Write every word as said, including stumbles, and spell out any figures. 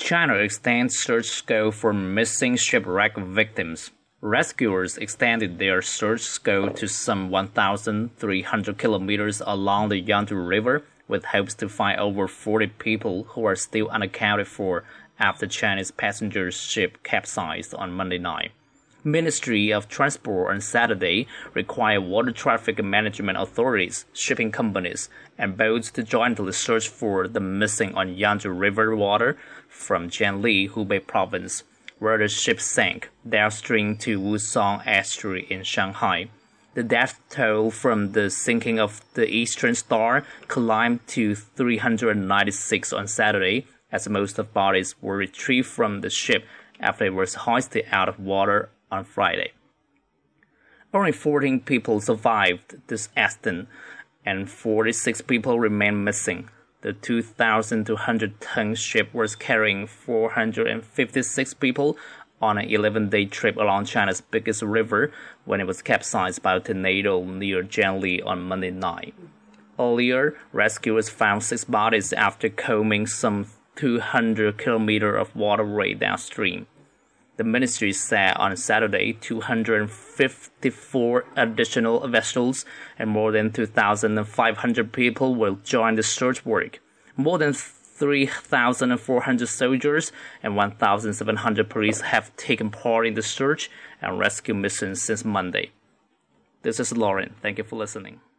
China extends search scope for missing shipwreck victims. Rescuers extended their search scope to some one thousand three hundred kilometers along the Yangtze River, with hopes to find over forty people who are still unaccounted for after Chinese passenger ship capsized on Monday night. Ministry of Transport on Saturday required water traffic management authorities, shipping companies, and boats to jointly search for the missing on Yangtze River water from Jianli, Hubei province, where the ship sank downstream to Wusong Estuary in Shanghai. The death toll from the sinking of the Eastern Star climbed to three hundred ninety-six on Saturday, as most of bodies were retrieved from the ship after it was hoisted out of water on Friday. Only fourteen people survived this accident, and forty-six people remain missing. The two thousand two hundred ton ship was carrying four hundred fifty-six people on an eleven-day trip along China's biggest river when it was capsized by a tornado near Jianli on Monday night. Earlier, rescuers found six bodies after combing some two hundred kilometers of waterway downstream. The ministry said on Saturday two hundred fifty-four additional vessels and more than two thousand five hundred people will join the search work. More than three thousand four hundred soldiers and one thousand seven hundred police have taken part in the search and rescue mission since Monday. This is Lauren. Thank you for listening.